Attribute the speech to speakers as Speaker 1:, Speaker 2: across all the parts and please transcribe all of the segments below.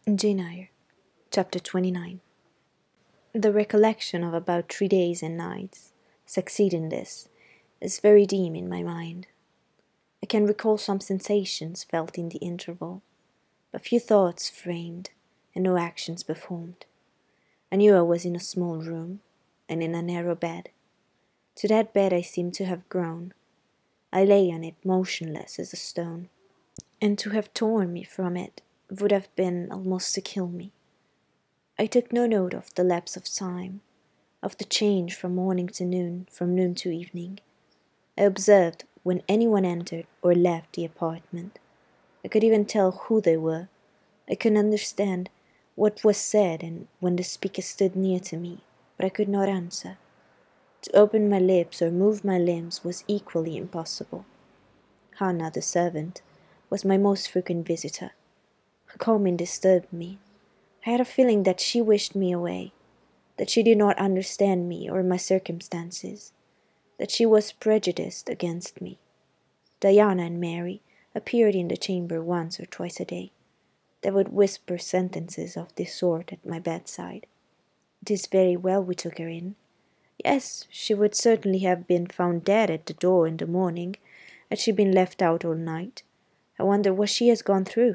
Speaker 1: Jane Eyre, Chapter 29. The recollection of about 3 days and nights succeeding this is very dim in my mind. I can recall some sensations felt in the interval, but few thoughts framed and no actions performed. I knew I was in a small room and in a narrow bed. To that bed I seemed to have grown. I lay on it motionless as a stone, and to have torn me from it would have been almost to kill me. I took no note of the lapse of time, of the change from morning to noon, from noon to evening. I observed when anyone entered or left the apartment. I could even tell who they were. I could understand what was said and when the speaker stood near to me, but I could not answer. To open my lips or move my limbs was equally impossible. Hannah, the servant, was my most frequent visitor. Her coming disturbed me. I had a feeling that she wished me away, that she did not understand me or my circumstances, that she was prejudiced against me. Diana and Mary appeared in the chamber once or twice a day. They would whisper sentences of this sort at my bedside. It is very well we took her in. Yes, she would certainly have been found dead at the door in the morning, had she been left out all night. I wonder what she has gone through.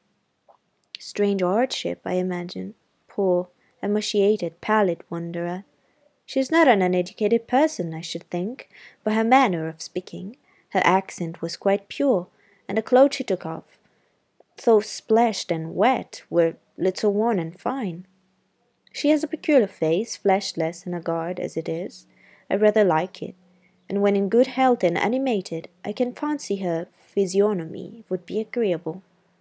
Speaker 1: Strange hardship, I imagine. Poor, emaciated, pallid wanderer. She is not an uneducated person, I should think, by her manner of speaking. Her accent was quite pure, and the clothes she took off, though splashed and wet, were little worn and fine. She has a peculiar face, fleshless and haggard as it is. I rather like it, and when in good health and animated, I can fancy her physiognomy would be agreeable.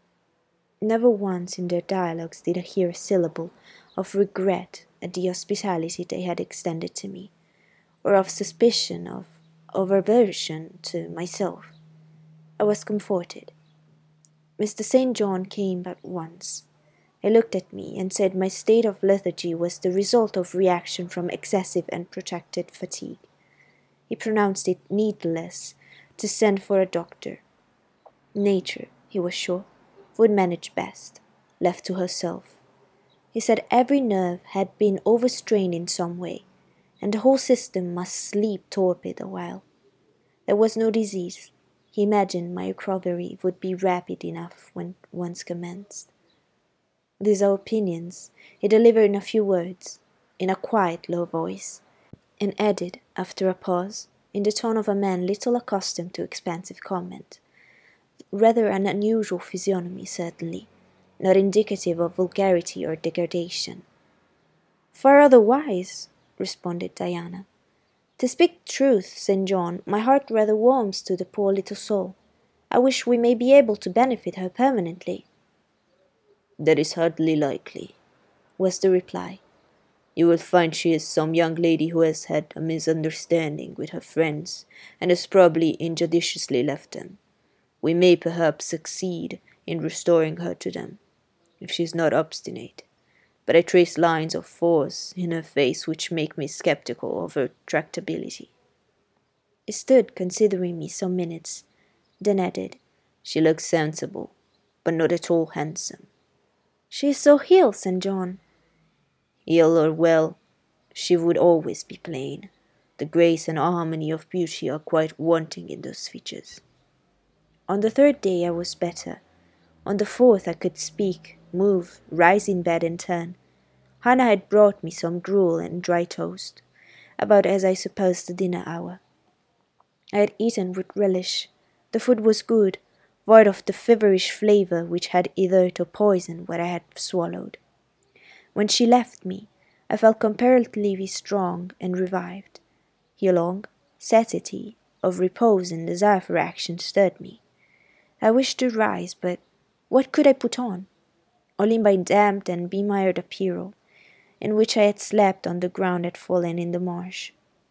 Speaker 1: Never once in their dialogues did I hear a syllable of regret at the hospitality they had extended to me, or of suspicion of aversion to myself. I was comforted. Mr. St. John came but once. He looked at me and said my state of lethargy was the result of reaction from excessive and protracted fatigue. He pronounced it needless to send for a doctor. Nature, he was sure, would manage best, left to herself. He said every nerve had been overstrained in some way, and the whole system must sleep torpid a while. There was no disease. He imagined my recovery would be rapid enough when once commenced. These are opinions he delivered in a few words, in a quiet, low voice, and added, after a pause, in the tone of a man little accustomed to expansive comment, rather an unusual physiognomy, certainly, not indicative of vulgarity or degradation. Far otherwise, responded Diana. To speak truth, St. John, my heart rather warms to the poor little soul. I wish we may be able to benefit her permanently.
Speaker 2: That is hardly likely, was the reply. You will find she is some young lady who has had a misunderstanding with her friends, and has probably injudiciously left them. We may perhaps succeed in restoring her to them, if she is not obstinate, but I trace lines of force in her face which make me sceptical of her tractability.
Speaker 1: He stood considering me some minutes, then added,
Speaker 2: She looks sensible, but not at all handsome.
Speaker 1: She is so ill, St. John.
Speaker 2: Ill or well, she would always be plain. The grace and harmony of beauty are quite wanting in those features.
Speaker 1: On the third day I was better. On the fourth I could speak, move, rise in bed and turn. Hannah had brought me some gruel and dry toast, about as I supposed the dinner hour. I had eaten with relish. The food was good, void of the feverish flavour which had ethered or poisoned what I had swallowed. When she left me, I felt comparatively strong and revived. A long satiety of repose and desire for action stirred me. I wished to rise, but what could I put on? Only my damp and bemired apparel, in which I had slept on the ground had fallen in the marsh.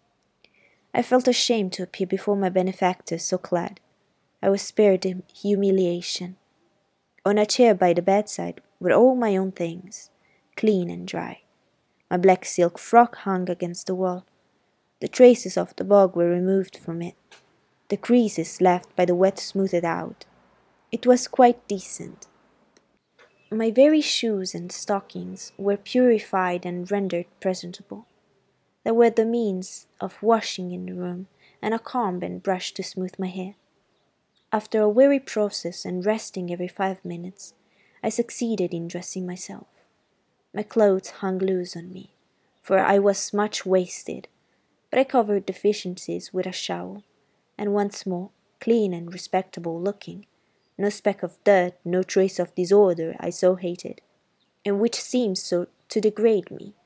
Speaker 1: I felt ashamed to appear before my benefactor so clad. I was spared the humiliation. On a chair by the bedside were all my own things, clean and dry. My black silk frock hung against the wall. The traces of the bog were removed from it. The creases left by the wet smoothed out. It was quite decent. My very shoes and stockings were purified and rendered presentable. There were the means of washing in the room, and a comb and brush to smooth my hair. After a weary process and resting every 5 minutes, I succeeded in dressing myself. My clothes hung loose on me, for I was much wasted, but I covered deficiencies with a shawl, and once more, clean and respectable looking, no speck of dirt, no trace of disorder I so hated, and which seemed so to degrade me.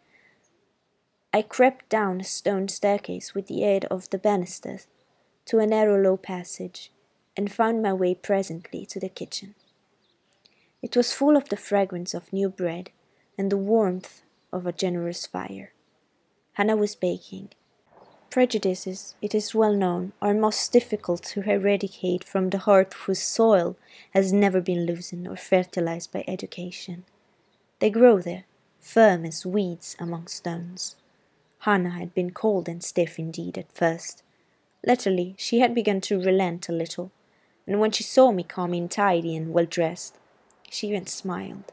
Speaker 1: I crept down a stone staircase with the aid of the banisters to a narrow low passage, and found my way presently to the kitchen. It was full of the fragrance of new bread and the warmth of a generous fire. Hannah was baking. Prejudices, it is well known, are most difficult to eradicate from the heart whose soil has never been loosened or fertilized by education. They grow there, firm as weeds among stones. Hannah had been cold and stiff indeed at first. Latterly she had begun to relent a little, and when she saw me come in tidy and well dressed, she even smiled.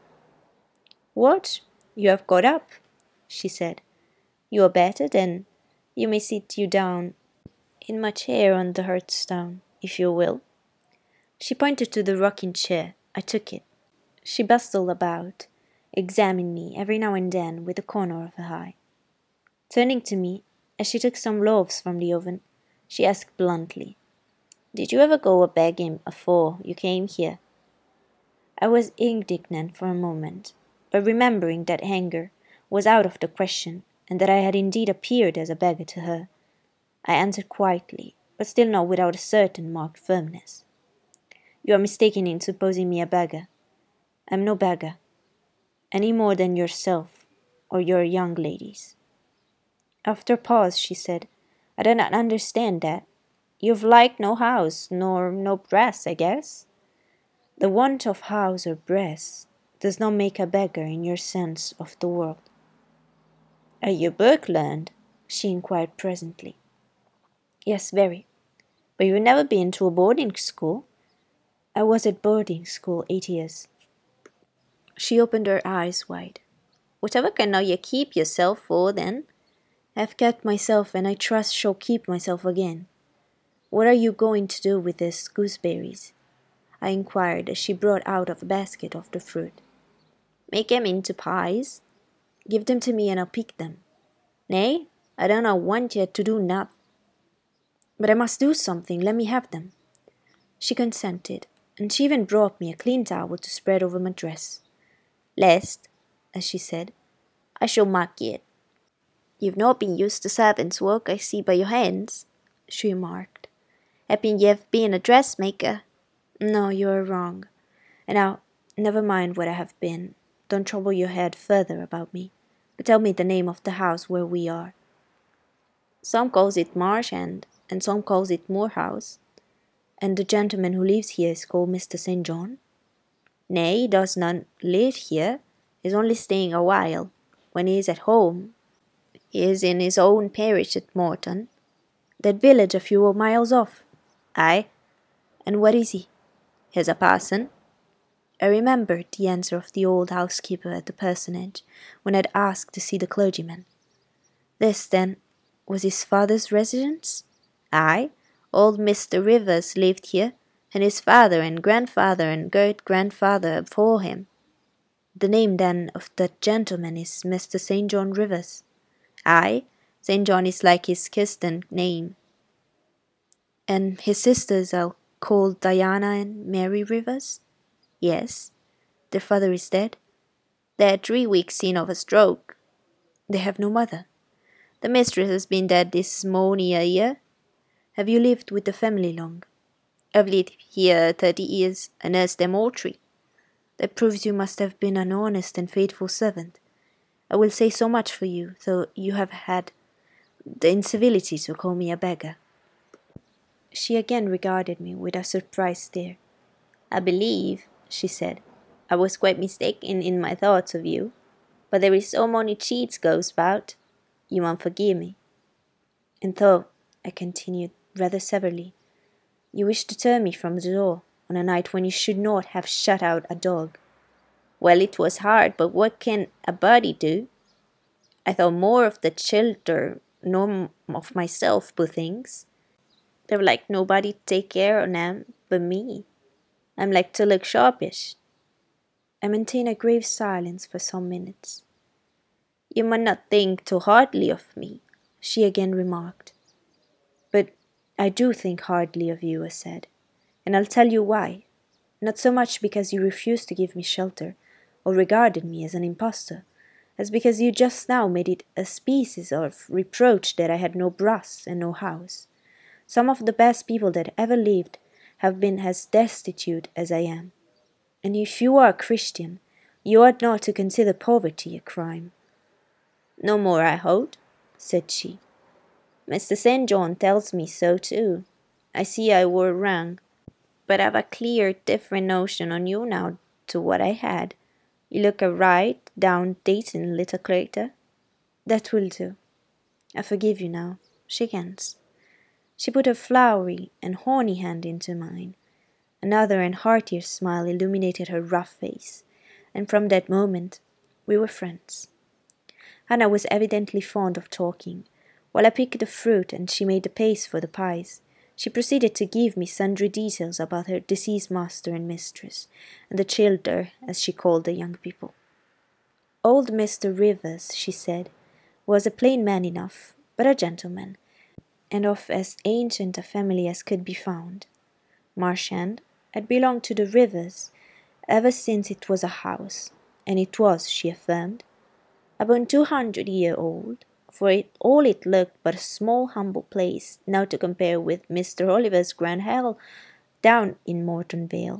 Speaker 1: "What, you have got up?" she said. "You are better, then? You may sit you down in my chair on the hearthstone, if you will." She pointed to the rocking chair. I took it. She bustled about, examined me every now and then with the corner of her eye. Turning to me, as she took some loaves from the oven, she asked bluntly, "Did you ever go a begging afore you came here?" I was indignant for a moment, but remembering that anger was out of the question, and that I had indeed appeared as a beggar to her, I answered quietly, but still not without a certain marked firmness. "You are mistaken in supposing me a beggar. I am no beggar, any more than yourself or your young ladies." After a pause, she said, "I do not understand that. You've like no house, nor no breast, I guess?" "The want of house or breast does not make a beggar in your sense of the word." "Are you book learned?" she inquired presently. "Yes, very." "But you've never been to a boarding school?" "I was at boarding school 8 years." She opened her eyes wide. "Whatever can now you keep yourself for, then?" "I have kept myself, and I trust shall keep myself again." "What are you going to do with these gooseberries?" I inquired as she brought out of a basket of the fruit. "Make 'em into pies." "Give them to me, and I'll pick them." "Nay, I do not want you to do naught." "But I must do something. Let me have them." She consented, and she even brought me a clean towel to spread over my dress. "Lest," as she said, "I shall mark it." "You've not been used to servants' work, I see by your hands," she remarked. "Happen you've been a dressmaker?" "No, you are wrong. And now, never mind what I have been. Don't trouble your head further about me, but tell me the name of the house where we are." "Some calls it Marsh End, and some calls it Moor House." "And the gentleman who lives here is called Mr. St. John?" "Nay, he does not live here. He is only staying a while. When he is at home, he is in his own parish at Morton." "That village a few miles off?" "Aye." "And what is he?" "He is a parson." I remembered the answer of the old housekeeper at the parsonage when I had asked to see the clergyman. This, then, was his father's residence? "Aye, old Mr. Rivers lived here, and his father and grandfather and great-grandfather afore him." "The name, then, of that gentleman is Mr. St. John Rivers?" "Aye, St. John is like his Christian name." "And his sisters are called Diana and Mary Rivers?" "Yes." "Their father is dead?" "They had 3 weeks sin of a stroke." "They have no mother?" "The mistress has been dead this mony a year." "Have you lived with the family long?" "I've lived here 30 years, and nursed them all 3." "That proves you must have been an honest and faithful servant. I will say so much for you, though you have had the incivility to call me a beggar." She again regarded me with a surprised stare. "I believe," she said, "I was quite mistaken in my thoughts of you, but there is so many cheats goes about. You won't forgive me." "And though," I continued, rather severely, "you wish to turn me from the door on a night when you should not have shut out a dog."
Speaker 2: Well, it was hard, but what can a body do? I thought more of the childer nor of myself, poor things. They're like nobody to take care on 'em but me. I'm like to look sharpish.
Speaker 1: I maintained a grave silence for some minutes.
Speaker 2: You must not think too hardly of me,
Speaker 1: she again remarked. But I do think hardly of you, I said, and I'll tell you why. Not so much because you refused to give me shelter, or regarded me as an impostor, as because you just now made it a species of reproach that I had no brass and no house. Some of the best people that ever lived have been as destitute as I am. And if you are a Christian, you ought not to consider poverty a crime.
Speaker 2: No more I hold, said she. Mr. St. John tells me so too. I see I were wrong, but I've a clear different notion on you now to what I had. You look a right down decent little creature.
Speaker 1: That will do. I forgive you now. Shake hands. She put her flowery and horny hand into mine. Another and heartier smile illuminated her rough face, and from that moment we were friends. Hannah was evidently fond of talking. While I picked the fruit and she made the paste for the pies, she proceeded to give me sundry details about her deceased master and mistress, and the childer, as she called the young people. Old Mr. Rivers, she said, was a plain man enough, but a gentleman, and of as ancient a family as could be found. Marchand had belonged to the Rivers ever since it was a house, and it was, she affirmed, about 200 years old, for all it looked but a small humble place now to compare with Mr. Oliver's grand hall down in Morton Vale.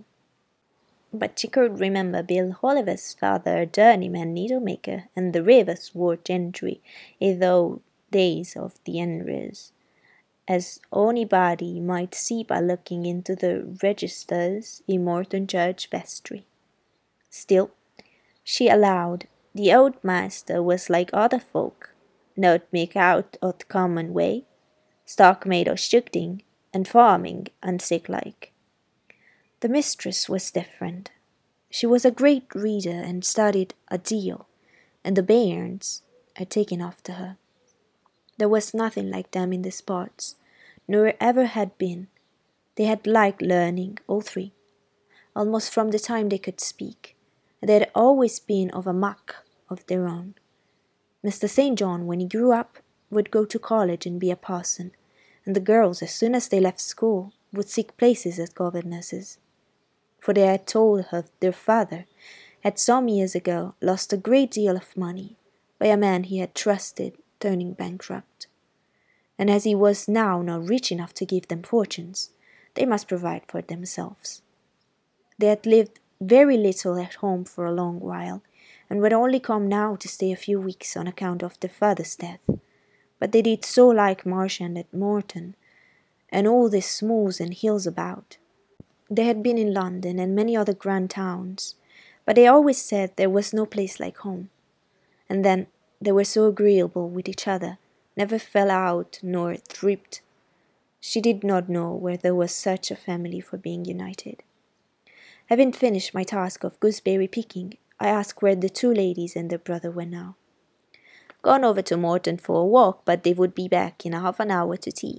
Speaker 1: But she could remember Bill Oliver's father, a journeyman needlemaker, and the Rivers were gentry in those days of the Henrys, as anybody might see by looking into the registers in Morton Church vestry. Still, she allowed the old master was like other folk, not make out o' the common way, stock made o' shooting and farming and sick like. The mistress was different. She was a great reader and studied a deal, and the bairns had taken after her. There was nothing like them in these parts, nor ever had been. They had liked learning, all three, almost from the time they could speak, and they had always been of a muck of their own. Mr. St. John, when he grew up, would go to college and be a parson, and the girls, as soon as they left school, would seek places as governesses. For they had told her their father had some years ago lost a great deal of money by a man he had trusted turning bankrupt. And as he was now not rich enough to give them fortunes, they must provide for themselves. They had lived very little at home for a long while, and would only come now to stay a few weeks on account of their father's death. But they did so like Marchand at Morton, and all these smooths and hills about. They had been in London and many other grand towns, but they always said there was no place like home. And then they were so agreeable with each other, never fell out nor tripped. She did not know where there was such a family for being united. Having finished my task of gooseberry picking, I asked where the two ladies and their brother were now.
Speaker 2: Gone over to Morton for a walk, but they would be back in half an hour to tea.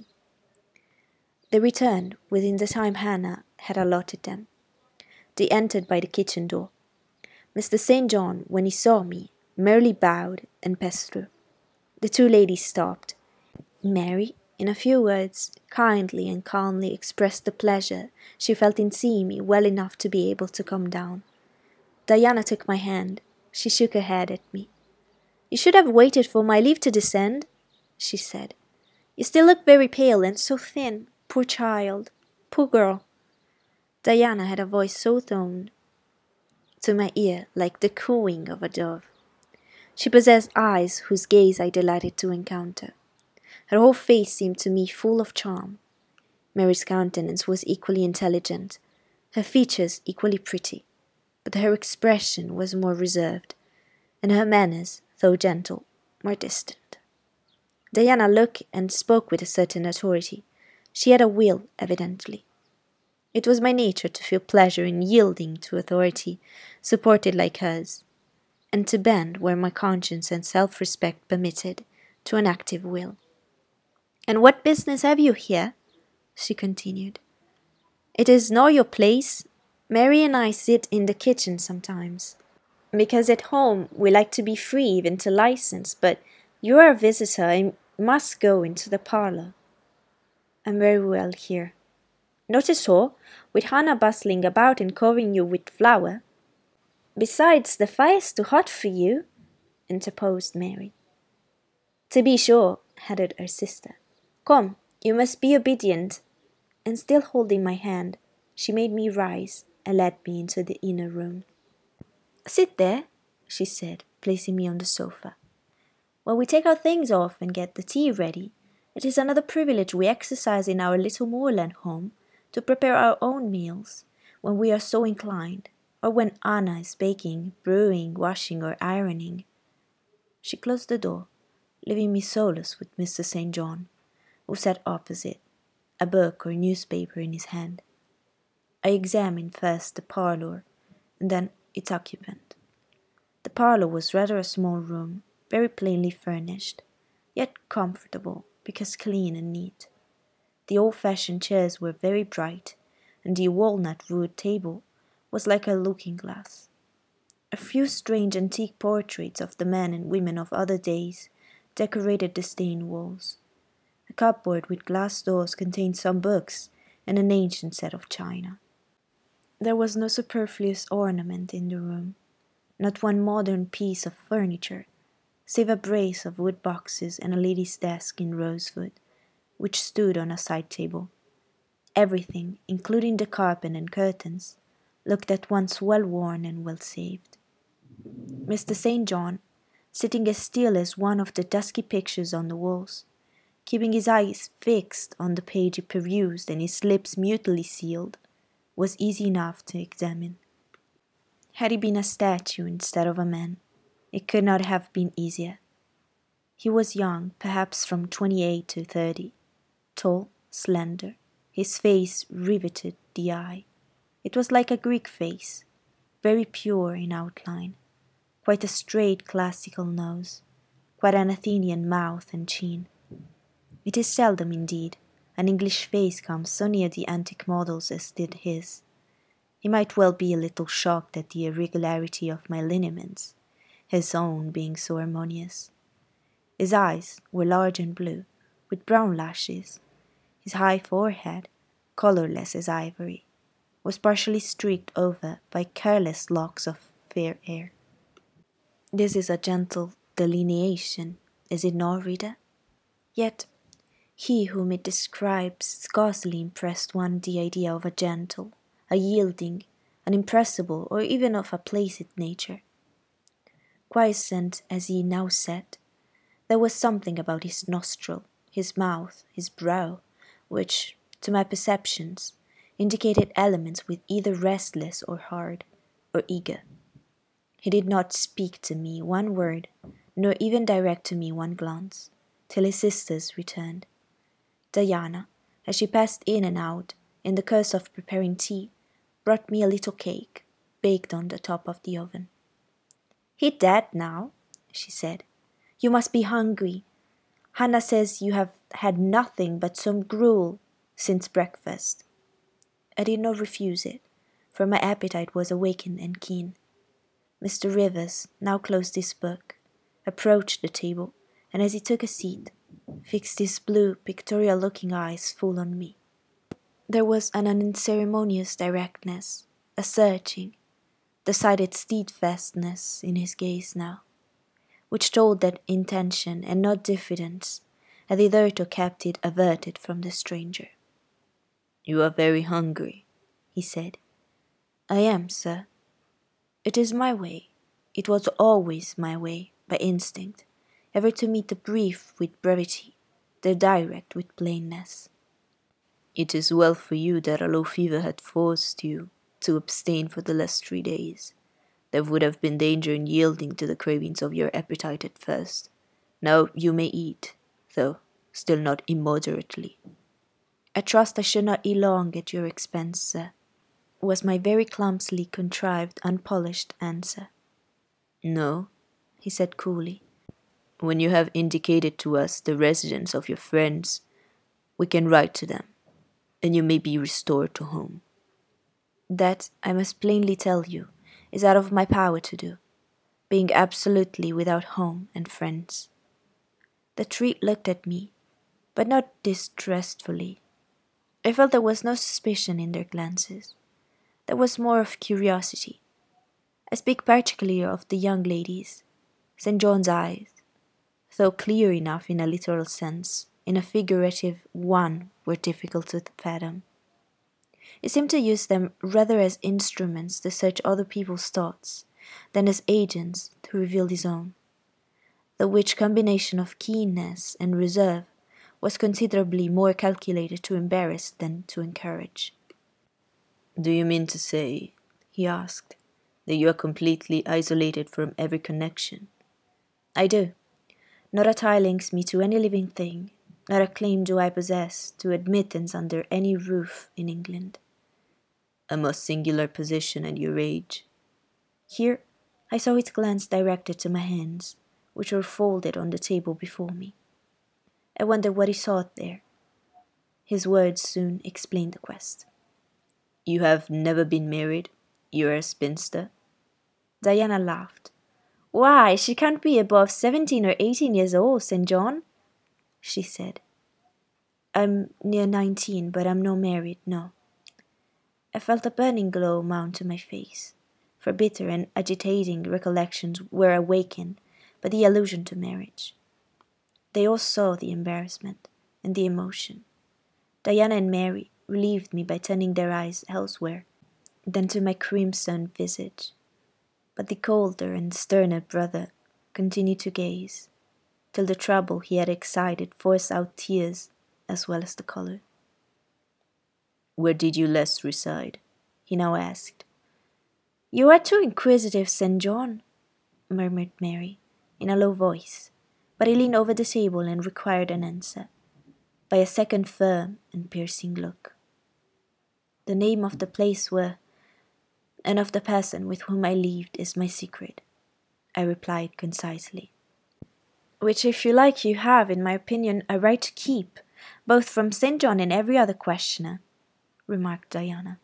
Speaker 1: They returned within the time Hannah had allotted them. They entered by the kitchen door. Mr. St. John, when he saw me, merely bowed and passed through. The two ladies stopped. Mary, in a few words, kindly and calmly expressed the pleasure she felt in seeing me well enough to be able to come down. Diana took my hand. She shook her head at me. "You should have waited for my leave to descend," she said. "You still look very pale and so thin. Poor child. Poor girl." Diana had a voice so toned to my ear like the cooing of a dove. She possessed eyes whose gaze I delighted to encounter. Her whole face seemed to me full of charm. Mary's countenance was equally intelligent, her features equally pretty, but her expression was more reserved, and her manners, though gentle, more distant. Diana looked and spoke with a certain authority. She had a will, evidently. It was my nature to feel pleasure in yielding to authority, supported like hers, and to bend where my conscience and self-respect permitted, to an active will. "And what business have you here?" she continued. "It is not your place. Mary and I sit in the kitchen sometimes, because at home we like to be free even to license, but you are a visitor and must go into the parlour." "I'm very well here." "Not at all, with Hannah bustling about and covering you with flour." "Besides, the fire's too hot for you," interposed Mary. "To be sure," added her sister. "Come, you must be obedient." And still holding my hand, she made me rise and led me into the inner room. "Sit there," she said, placing me on the sofa, "while we take our things off and get the tea ready. It is another privilege we exercise in our little moorland home, to prepare our own meals, when we are so inclined, or when Anna is baking, brewing, washing, or ironing." She closed the door, leaving me solus with Mr. St. John, who sat opposite, a book or newspaper in his hand. I examined first the parlour, and then its occupant. The parlour was rather a small room, very plainly furnished, yet comfortable because clean and neat. The old-fashioned chairs were very bright, and the walnut-wood table was like a looking-glass. A few strange antique portraits of the men and women of other days decorated the stained walls. A cupboard with glass doors contained some books and an ancient set of china. There was no superfluous ornament in the room, not one modern piece of furniture, save a brace of wood boxes and a lady's desk in rosewood, which stood on a side table. Everything, including the carpet and curtains, looked at once well worn and well saved. Mr. St. John, sitting as still as one of the dusky pictures on the walls, keeping his eyes fixed on the page he perused and his lips mutely sealed, was easy enough to examine. Had he been a statue instead of a man, it could not have been easier. He was young, perhaps from 28 to 30, tall, slender, his face riveted the eye. It was like a Greek face, very pure in outline, quite a straight classical nose, quite an Athenian mouth and chin. It is seldom, indeed, an English face comes so near the antique models as did his. He might well be a little shocked at the irregularity of my lineaments, his own being so harmonious. His eyes were large and blue, with brown lashes. His high forehead, colourless as ivory, was partially streaked over by careless locks of fair hair. This is a gentle delineation, is it not, reader? Yet he whom it describes scarcely impressed one the idea of a gentle, a yielding, an impressible, or even of a placid nature. Quiescent as he now sat, there was something about his nostril, his mouth, his brow, which, to my perceptions, indicated elements with either restless or hard, or eager. He did not speak to me one word, nor even direct to me one glance, till his sisters returned. Diana, as she passed in and out, in the course of preparing tea, brought me a little cake, baked on the top of the oven. "Eat that now," she said. "You must be hungry. Hannah says you have had nothing but some gruel since breakfast." I did not refuse it, for my appetite was awakened and keen. Mr. Rivers now closed his book, approached the table, and as he took a seat, fixed his blue, pictorial-looking eyes full on me. There was an unceremonious directness, a searching, decided steadfastness in his gaze now, which told that intention and not diffidence had hitherto kept it averted from the stranger.
Speaker 2: "You are very hungry," he said.
Speaker 1: "I am, sir. It is my way. It was always my way, by instinct, ever to meet the brief with brevity, the direct with plainness."
Speaker 2: "It is well for you that a low fever had forced you to abstain for the last 3 days. There would have been danger in yielding to the cravings of your appetite at first. Now you may eat, though still not immoderately."
Speaker 1: "I trust I shall not eat long at your expense, sir. was my very clumsily contrived, unpolished answer.
Speaker 2: No,
Speaker 1: he said coolly.
Speaker 2: When you have indicated to us the residence of your friends, we can write to them, and you may be restored to home.
Speaker 1: That, I must plainly tell you, is out of my power to do, being absolutely without home and friends. The three looked at me, but not distrustfully. I felt there was no suspicion in their glances. There was more of curiosity. I speak particularly of the young ladies. St. John's eyes, though clear enough in a literal sense, in a figurative one were difficult to fathom. He seemed to use them rather as instruments to search other people's thoughts than as agents to reveal his own, the which combination of keenness and reserve was considerably more calculated to embarrass than to encourage.
Speaker 2: Do you mean to say, he asked, that you are completely isolated from every connection?
Speaker 1: I do. Not a tie links me to any living thing, not a claim do I possess to admittance under any roof in England.
Speaker 2: A most singular position at your age.
Speaker 1: Here I saw his glance directed to my hands, which were folded on the table before me. I wondered what he sought there. His words soon explained the quest.
Speaker 2: You have never been married? You are a spinster?
Speaker 1: Diana laughed. Why, she can't be above 17 or 18 years old, St. John, she said. I'm near 19, but I'm not married, no. I felt a burning glow mount to my face, for bitter and agitating recollections were awakened by the allusion to marriage. They all saw the embarrassment and the emotion. Diana and Mary relieved me by turning their eyes elsewhere than to my crimson visage, but the colder and sterner brother continued to gaze, till the trouble he had excited forced out tears as well as the colour.
Speaker 2: Where did you last reside? He now asked.
Speaker 1: You are too inquisitive, St. John, murmured Mary, in a low voice, but he leaned over the table and required an answer, by a second firm and piercing look. The name of the place where, and of the person with whom I lived is my secret, I replied concisely. Which, if you like, you have, in my opinion, a right to keep, both from St. John and every other questioner, remarked Diana.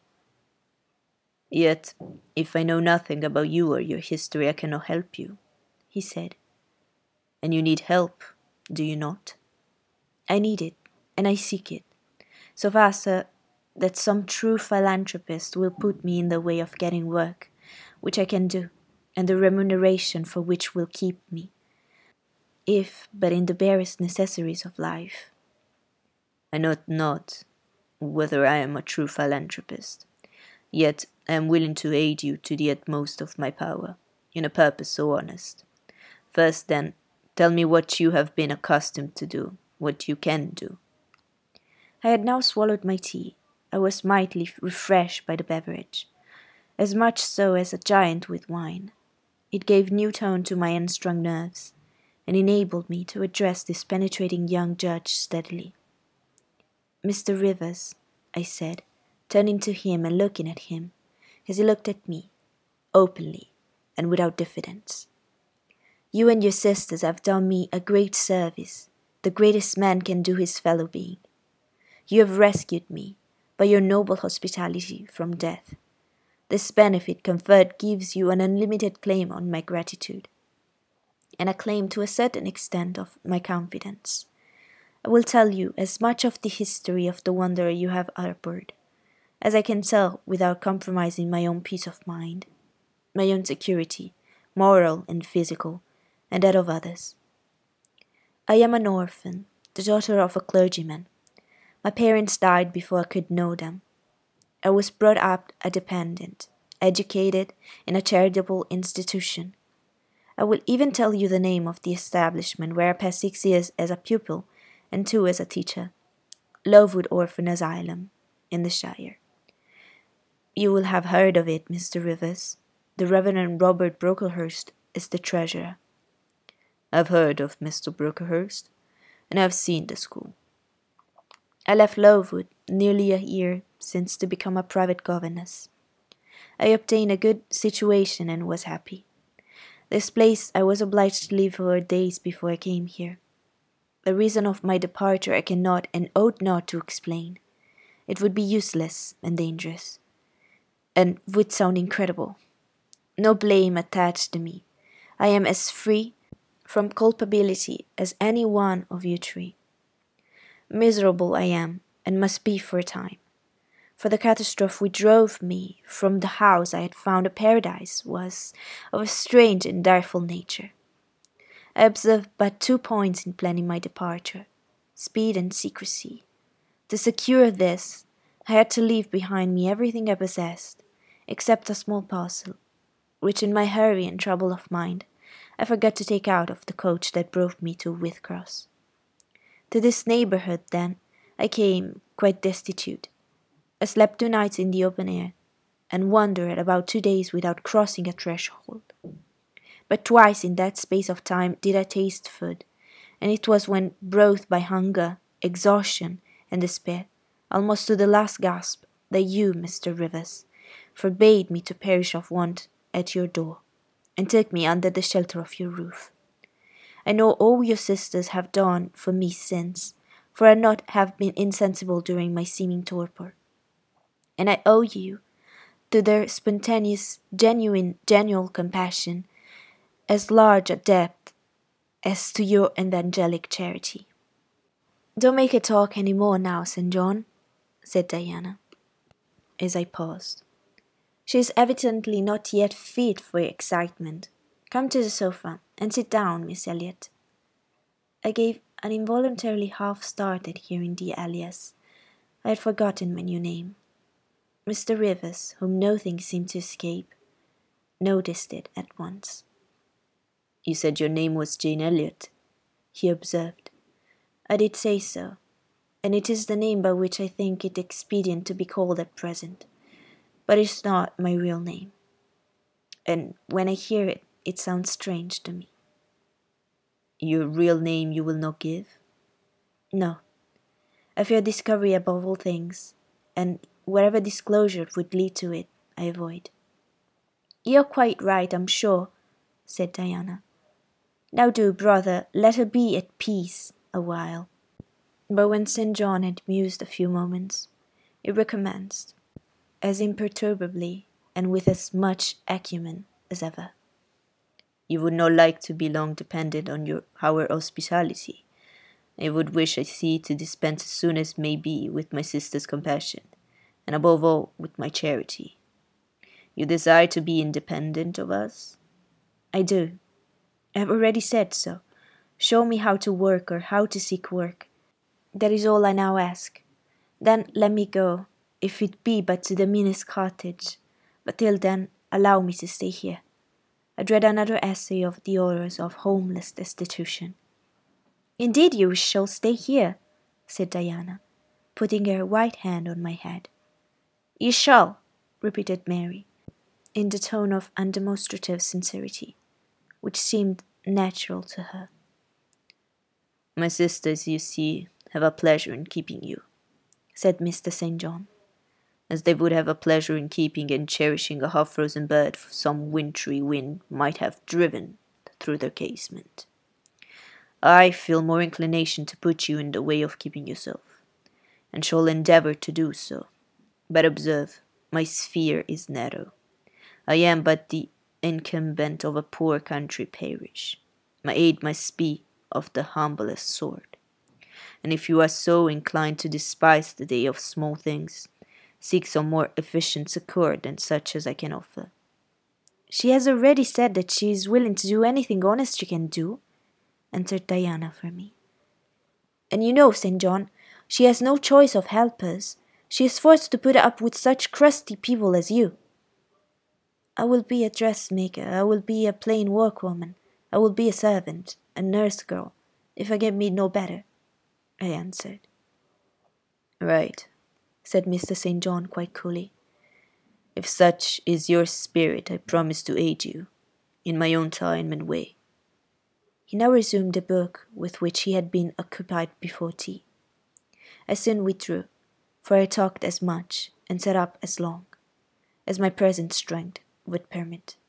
Speaker 2: Yet, if I know nothing about you or your history, I cannot help you, he said. And you need help, do you not?
Speaker 1: I need it, and I seek it, so far, sir, that some true philanthropist will put me in the way of getting work, which I can do, and the remuneration for which will keep me, if but in the barest necessaries of life.
Speaker 2: I know not whether I am a true philanthropist, yet I am willing to aid you to the utmost of my power, in a purpose so honest. First, then, tell me what you have been accustomed to do, what you can do.
Speaker 1: I had now swallowed my tea. I was mightily refreshed by the beverage, as much so as a giant with wine. It gave new tone to my unstrung nerves, and enabled me to address this penetrating young judge steadily. Mr. Rivers, I said, turning to him and looking at him, as he looked at me, openly and without diffidence. You and your sisters have done me a great service, the greatest man can do his fellow being. You have rescued me, by your noble hospitality, from death. This benefit conferred gives you an unlimited claim on my gratitude, and a claim to a certain extent of my confidence. I will tell you as much of the history of the wanderer you have harbored as I can tell without compromising my own peace of mind, my own security, moral and physical, and that of others. I am an orphan, the daughter of a clergyman. My parents died before I could know them. I was brought up a dependent, educated in a charitable institution. I will even tell you the name of the establishment where I passed 6 years as a pupil and 2 as a teacher, Lowood Orphan Asylum, in the Shire. You will have heard of it, Mr. Rivers. The Reverend Robert Brocklehurst is the treasurer.
Speaker 2: I've heard of Mr. Brocklehurst, and I've seen the school.
Speaker 1: I left Lowood nearly a year since to become a private governess. I obtained a good situation and was happy. This place I was obliged to leave for days before I came here. The reason of my departure I cannot and ought not to explain. It would be useless and dangerous, and would sound incredible. No blame attached to me. I am as free from culpability as any one of you three. Miserable I am, and must be for a time. For the catastrophe which drove me from the house I had found a paradise was of a strange and direful nature. I observed but 2 points in planning my departure: speed and secrecy. To secure this, I had to leave behind me everything I possessed, except a small parcel, which in my hurry and trouble of mind I forgot to take out of the coach that brought me to Whitcross. To this neighbourhood, then, I came quite destitute. I slept 2 nights in the open air, and wandered about 2 days without crossing a threshold. But twice in that space of time did I taste food, and it was when, brought by hunger, exhaustion, and despair, almost to the last gasp, that you, Mr. Rivers, forbade me to perish of want at your door, and took me under the shelter of your roof. I know all your sisters have done for me since, for I not have been insensible during my seeming torpor. And I owe you, to their spontaneous, genuine compassion, as large a debt as to your evangelic charity. Don't make her talk any more now, St. John, said Diana, as I paused. She is evidently not yet fit for excitement. Come to the sofa, and sit down, Miss Elliot. I gave an involuntarily half start at hearing the alias. I had forgotten my new name. Mr. Rivers, whom nothing seemed to escape, noticed it at once.
Speaker 2: You said your name was Jane Elliot,
Speaker 1: he observed. I did say so, and it is the name by which I think it expedient to be called at present, but it is not my real name, and when I hear it, it sounds strange to me.
Speaker 2: Your real name you will not give?
Speaker 1: No. I fear discovery above all things, and wherever disclosure would lead to it, I avoid. You are quite right, I'm sure, said Diana. Now do, brother, let her be at peace a while. But when St. John had mused a few moments, it recommenced, as imperturbably and with as much acumen as ever.
Speaker 2: You would not like to be long dependent on our hospitality. I would wish, I see, to dispense as soon as may be with my sister's compassion, and above all with my charity. You desire to be independent of us?
Speaker 1: I do. I have already said so. Show me how to work or how to seek work. That is all I now ask. Then let me go, if it be but to the meanest cottage. But till then, allow me to stay here. I dread another essay of the horrors of homeless destitution. Indeed you shall stay here, said Diana, putting her white hand on my head. You shall, repeated Mary, in the tone of undemonstrative sincerity, which seemed natural to her.
Speaker 2: My sisters, you see, have a pleasure in keeping you,
Speaker 1: said Mr. St. John,
Speaker 2: as they would have a pleasure in keeping and cherishing a half-frozen bird some wintry wind might have driven through their casement. I feel more inclination to put you in the way of keeping yourself, and shall endeavour to do so. But observe, my sphere is narrow. I am but the incumbent of a poor country parish. My aid must be of the humblest sort. And if you are so inclined to despise the day of small things, seek some more efficient succour than such as I can offer.
Speaker 1: She has already said that she is willing to do anything honest she can do, answered Diana for me. And you know, St. John, she has no choice of helpers. She is forced to put up with such crusty people as you. I will be a dressmaker, I will be a plain workwoman, I will be a servant, a nurse girl, if I get me no better, I answered.
Speaker 2: Right, said Mr. St. John quite coolly. If such is your spirit, I promise to aid you, in my own time and way.
Speaker 1: He now resumed the book with which he had been occupied before tea. I soon withdrew, for I talked as much and sat up as long. as my present strength would permit.